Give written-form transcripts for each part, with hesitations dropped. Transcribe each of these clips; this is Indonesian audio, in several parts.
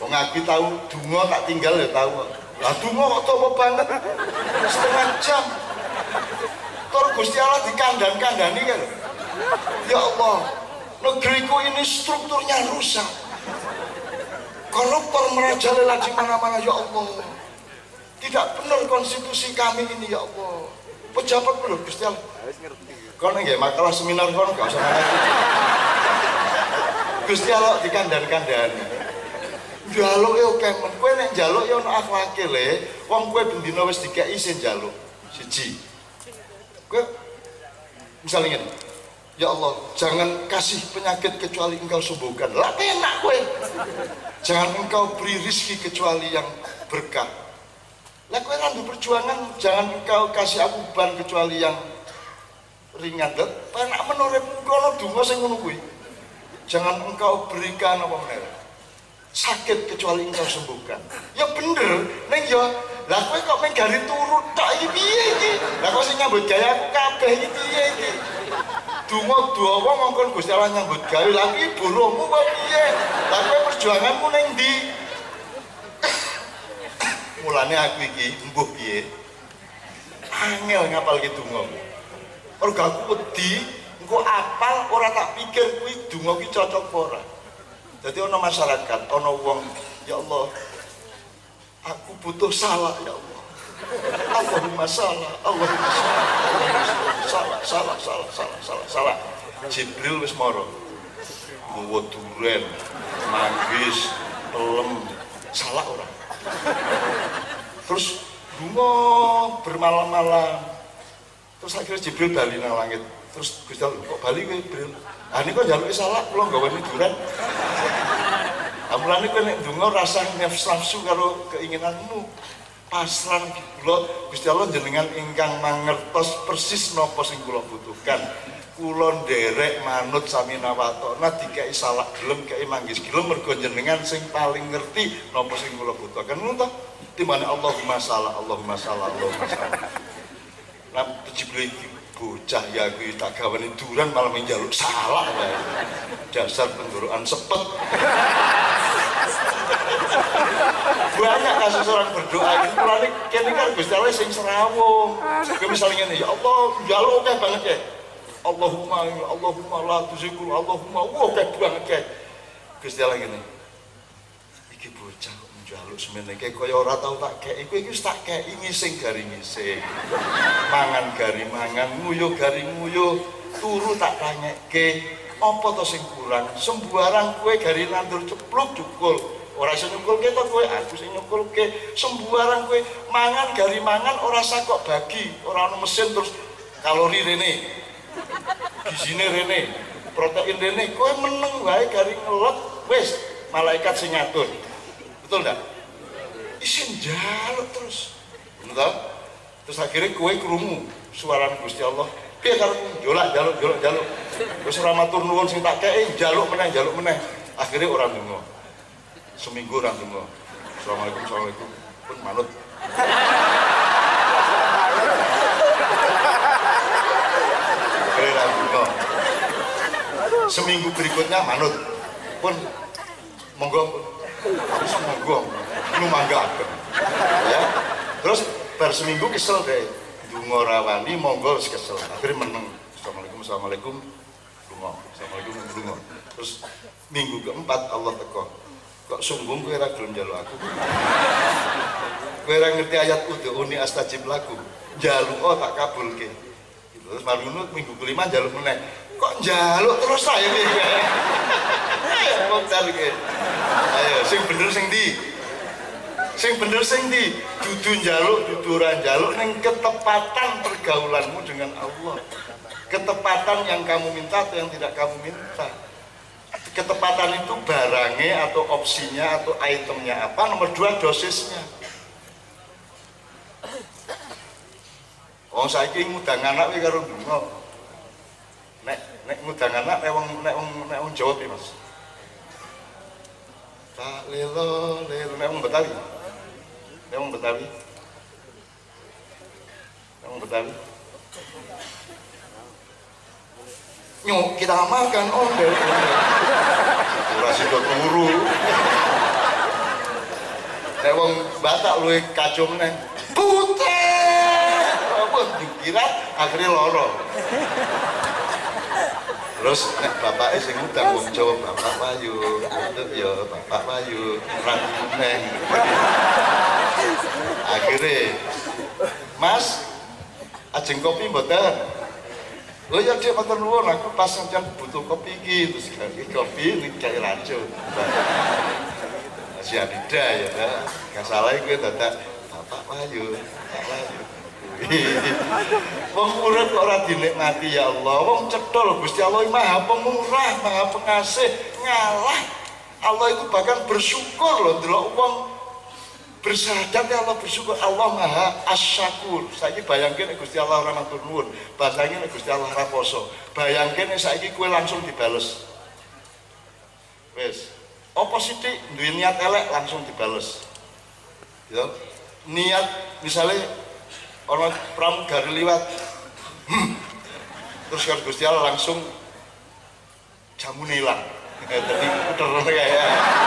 Wong aku tahu donga tak tinggal ya tahu. Lah donga kok topo banget. Setengah jam. Tur Gusti Allah dikandan-kandani kan. Ya Allah, negeriku ini strukturnya rusak. Koruptor merajalela di mana-mana ya Allah. Tidak benar konstitusi kami ini ya Allah. Pejabat bener Gusti Allah. Kono nggih makalah seminar kono gak usah ngerti. Gusti Allah dikandan-kandani. Njaluk ya oke men. Kowe nek njaluk ya ono akhlake le. Wong kowe bendina wis dikeki isin njaluk. Siji. Kowe misalnya ngene. Ya Allah, jangan kasih penyakit kecuali Engkau sembuhkan. Lah enak kowe. Jangan Engkau beri rezeki kecuali yang berkah. Lah kowe randu perjuangan, jangan Engkau kasih aku beban kecuali yang ringan. Lah enak menurut kono donga sing ngono kuwi. Jangan Engkau berikan apa meneh. Sakit kecuali Engkau sembuhkan. Ya bener, neng ya. Lah kowe kok meng gari turut tok iki piye iki? Lah kok sing nyambut gawe aku kabeh iki piye iki? Donga dawa mongkon Gusti Allah nyambut gawe lha iki boromu kok piye? Lah kowe perjuanganmu ning ndi? Mulane aku iki mbuh piye? Angel ngapal ki donga. Mergo aku wedi engko apal ora tak pikir kuwi donga ki cocok apa ora. Jadi ono masyarakat, ono wong, ya Allah, aku butuh salah ya Allah. Allahumma salah, Allahumma salah. Jibril wis mara. Nggawa duren, manggis, pelem, salah ora. Terus lunga bermalam-malam. Terus akhirnya Jibril bali nang langit. Terus Gusti Allah kok bali kowe Jibril? Ah niku njaluki salah kula nggaweni duren. Amulane kowe nek ndonga rasa nafsu karo keinginanmu. Pasrah kula Gusti Allah jenengan ingkang mangertos persis napa sing kula butuhkan. Kula nderek manut sami nawatona dikeki salah gelem kei manggis gelem mergo jenengan sing paling ngerti napa sing kula butuhkan. Ngono to? Timbane Allahumma salah, Allahumma salah, Allahumma salah. Lah Jibril bocah ya kuwi tak gaweni duran malah njaluk salah wae. Dasar penggorokan sepet. Banyak kasus orang berdoa ini mulane kene kan Gusti Allah sing serawung. Kowe misalnya ngene ya Allah njaluk akeh banget ya. Allahumma la tuzigul Allahumma akeh banget ya. Gusti Allah ngene. Iki bocah njaluk semene kaya ora tau tak kei kowe iki wis tak kei ngising gari ngising. Mangan gari mangan, nguyuh gari nguyuh, turu tak tanyekke, apa to sing kurang? Sembarang kowe gari nandur cepluk cukul. Ora iso nyukulke to kowe, aku sing nyukulke. Sembarang kowe mangan gari mangan ora sakok bagi, ora ono mesin terus kalori rene. Gizine rene, protein rene, kowe meneng wae gari ngelot wis malaikat sing ngatur. Betul enggak? Isin njaluk terus. Betul? Terus akhirnya kowe krungu suara Gusti Allah. Piye karepmu? Jaluk. Wis ora matur nuwun sing tak kei, njaluk meneh. Akhirnya ora ndonga. Seminggu ora ndonga. Assalamualaikum. Pun manut. Akhirnya ora ndonga. Seminggu berikutnya manut. Pun monggo lu mangga ya. Terus bar seminggu kesel deh ndonga rawani monggo wis kesel akhirnya meneng assalamualaikum ndonga terus minggu keempat Allah teko kok sombong kowe ora gelem njaluk aku kowe ora ngerti ayat udhuni astajib lakum njaluk tak kabulke terus marunut minggu kelima njaluk meneh kok njaluk terus saya iki ayo sing bener sing ndi dudu njaluk dudu ora njaluk ning ketepatan pergaulanmu dengan Allah ketepatan yang kamu minta atau yang tidak kamu minta ketepatan itu barangnya atau opsinya atau itemnya apa nomor 2 dosisnya saiki ngundang anak kuwi karo ndonga nek ngundang anak nek wong Jawa piye Mas tak lelo nek wong Betawi nyok kita makan ondel ora sida turu batak luwe kacau meneh. Butet. Apa dikira akhirnya loro. Terus nek bapake sing ngundang wong Jawa, Bapak Wayu, untuk ya Bapak Wayu, ragu neng. Akhirnya, Mas, ajeng kopi mboten. Oh ya Dik, matur nuwun, aku pas sampeyan butuh kopi iki, terus kopi ning kae racun. Si Adida ya, gak salah gue dadak Bapak Wayu, Bapak Wayu. Wong urip kok ora dinikmati ya Allah. Wong cedol Gusti Allah Maha Pemurah, Maha Pengasih, ngalah. Allah itu bahkan bersyukur loh ndelok wong bersyahadat ya Allah bersyukur. Allah Maha Asyakur. Saiki bayangke nek Gusti Allah ora matur nuwun, bahasane nek Gusti Allah ora poso. Bayangke nek saiki kowe langsung dibales. Wis, apa sithik duwe niat elek langsung dibales. Ya. Niat misalnya orang pramugari liwat terus kan Gusti Allah langsung jamu hilang jadi puter kayak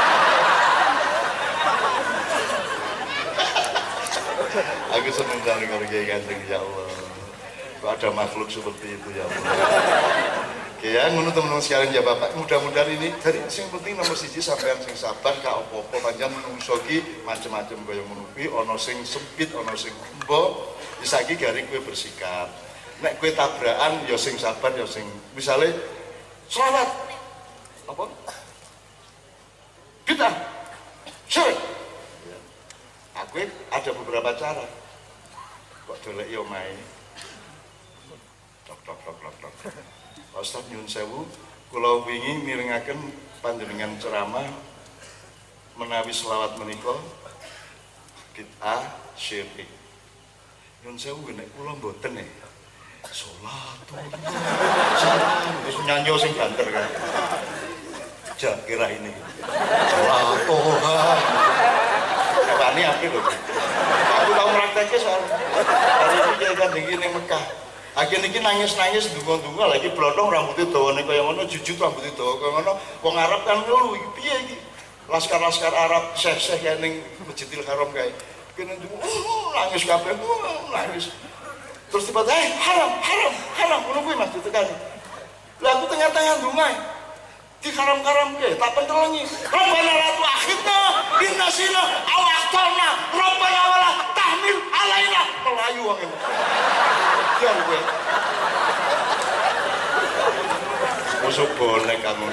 aku seneng sekali kalau kayak ganteng ya Allah kok ada makhluk seperti itu ya Allah. Oke ya ngono teman-teman sekalian ya Bapak, mudah-mudahan ini dari yang penting nomor siji sampean sing sabar gak apa-apa pancen menungso ki macam-macam kaya ngono kuwi ana sing sempit ana sing embo. Saiki garing kowe bersikap. Nek kowe tabrakan ya sing sabar ya sing misale selawat apa? Kita sik. Aku ada beberapa cara. Kok dolek yo main. Tok. Ustaz nyuwun sewu, kula wingi mirengaken panjenengan ceramah menawi selawat menika bid'ah syirik. Nyuwun sewu nek kula mboten nek salatullah wis nyanyi sing banter kan. Jak kira ini. Salatullah. Wani apik lho. Aku tau praktekke soal hari iki kan iki ning Mekah. Akhirnya ini nangis-nangis dungo-dungo lagi blotong rambutnya dawa nih kaya ngono jujut rambutnya dawa kaya ngono wong Arab kan lho iki piye iki laskar-laskar Arab seh-seh kaya ning Masjidil Haram kaya kene nangis kabeh nangis terus tiba-tiba haram ngono kuwi Mas ditekani lha aku tengah-tengah ndonga di haram-haram ke tak pentelengi Rabbana la tu'akhidna in nasina aw akhtana Rabbana wala tahmil alaina melayu wong iki jangan gue musuh bonek kamu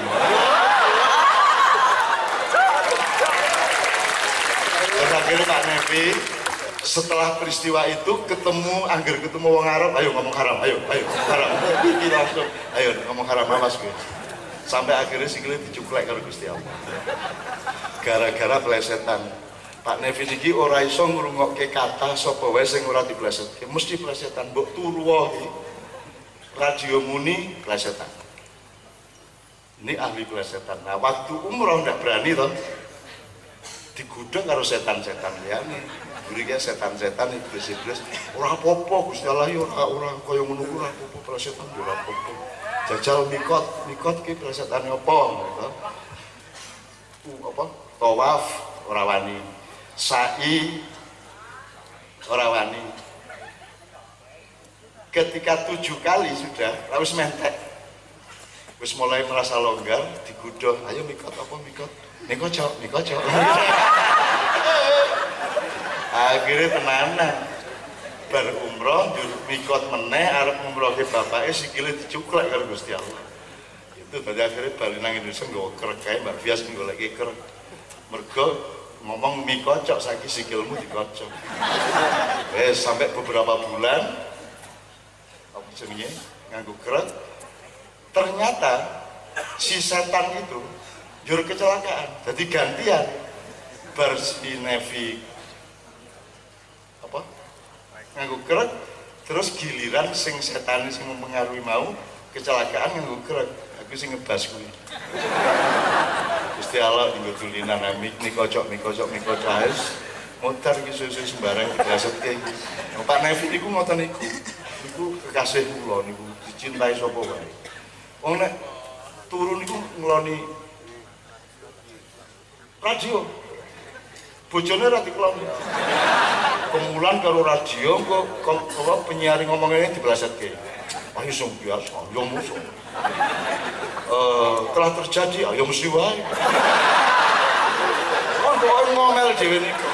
terus akhirnya Pak Nevi setelah peristiwa itu ketemu wong Arab ayo ngomong haram ayo haram langsung ayo ngomong haram awas gue sampai akhirnya sikile dicuklek karo Gusti Allah gara-gara plesetan Pak Nevi iki ora iso ngrungokke kata sapa wae sing ora diplesetke mesti plesetan mbok turu wae radio muni plesetan ini ahli plesetan nah waktu umroh ndak berani toh digodhong karo setan-setan liyane mriki setan-setan iblis-iblis ora apa-apa Gusti Allah ya ora kaya ngono ora apa-apa plesetan ya ora apa-apa jajal mikot ki plesetane apa gitu apa tawaf ora wani sa'i ora wani ketika 7 kali sudah harus mentek wis mulai merasa longgar digodhong ayo mikot apa mikot niko cok akhirnya tenanan bar umroh mikot meneh arep umroh ke bapake sikile dicuklek karo Gusti Allah itu tadi akhirnya bali nang Indonesia nggawa kerek kae Mbak Bias goleki kerek mergo ngomong mie kocok saiki sikilmu dikocok sampai beberapa bulan apa jenenge nganggo kerek ternyata si setan itu jur kecelakaan jadi gantian bar si Nevi apa nganggo kerek terus giliran sing setan sing mempengaruhi mau kecelakaan nganggo kerek aku sing ngebas kuwi Gusti Allah nggo dulinan mik kocok aes mutar iki susu sembarang diplesetke iki Pak Nevi niku ngoten niku kekasih kula niku dicintai sapa wae wong nek turu niku ngloni radio bojone ra dikeloni. Kemulan karo radio kok penyiar ngomong ini dibelasetke. Ayo sing biasa, yo musuh. Telah terjadi, ayo mesti wae. Oh, kok ngomel dhewe niku.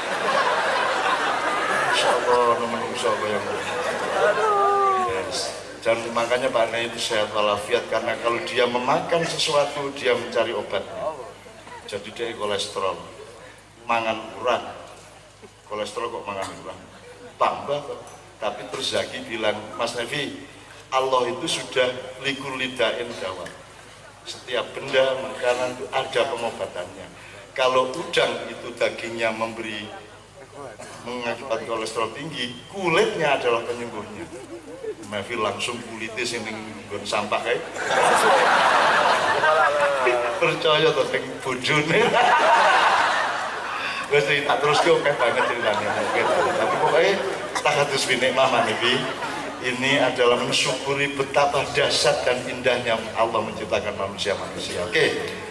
Insyaallah menungso kaya ngono. Yes. Dan makanya Pak Nay itu sehat walafiat karena kalau dia memakan sesuatu dia mencari obatnya. Jadi dia kolesterol, mangan urang. Kolesterol kok mangan urang? Tambah kok. Tapi terus Zaki bilang, Mas Nevi, Allah itu sudah likur lidain dawa. Setiap benda makanan itu ada pengobatannya. Kalau udang itu dagingnya mengakibat kolesterol tinggi, kulitnya adalah penyembuhnya. Nevi langsung kulitnya sing nggon sampah kayak. Percaya tuh sing bojone. Wes tak terus ke oke banget ceritanya. Tapi pokoknya tak harus binik mama Nevi. Ini adalah mensyukuri betapa dahsyat dan indahnya Allah menciptakan manusia. Oke.